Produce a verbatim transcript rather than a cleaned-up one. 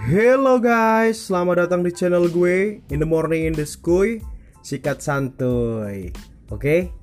Hello guys, selamat datang di channel gue In the Morning in the School, sikat santuy. Oke,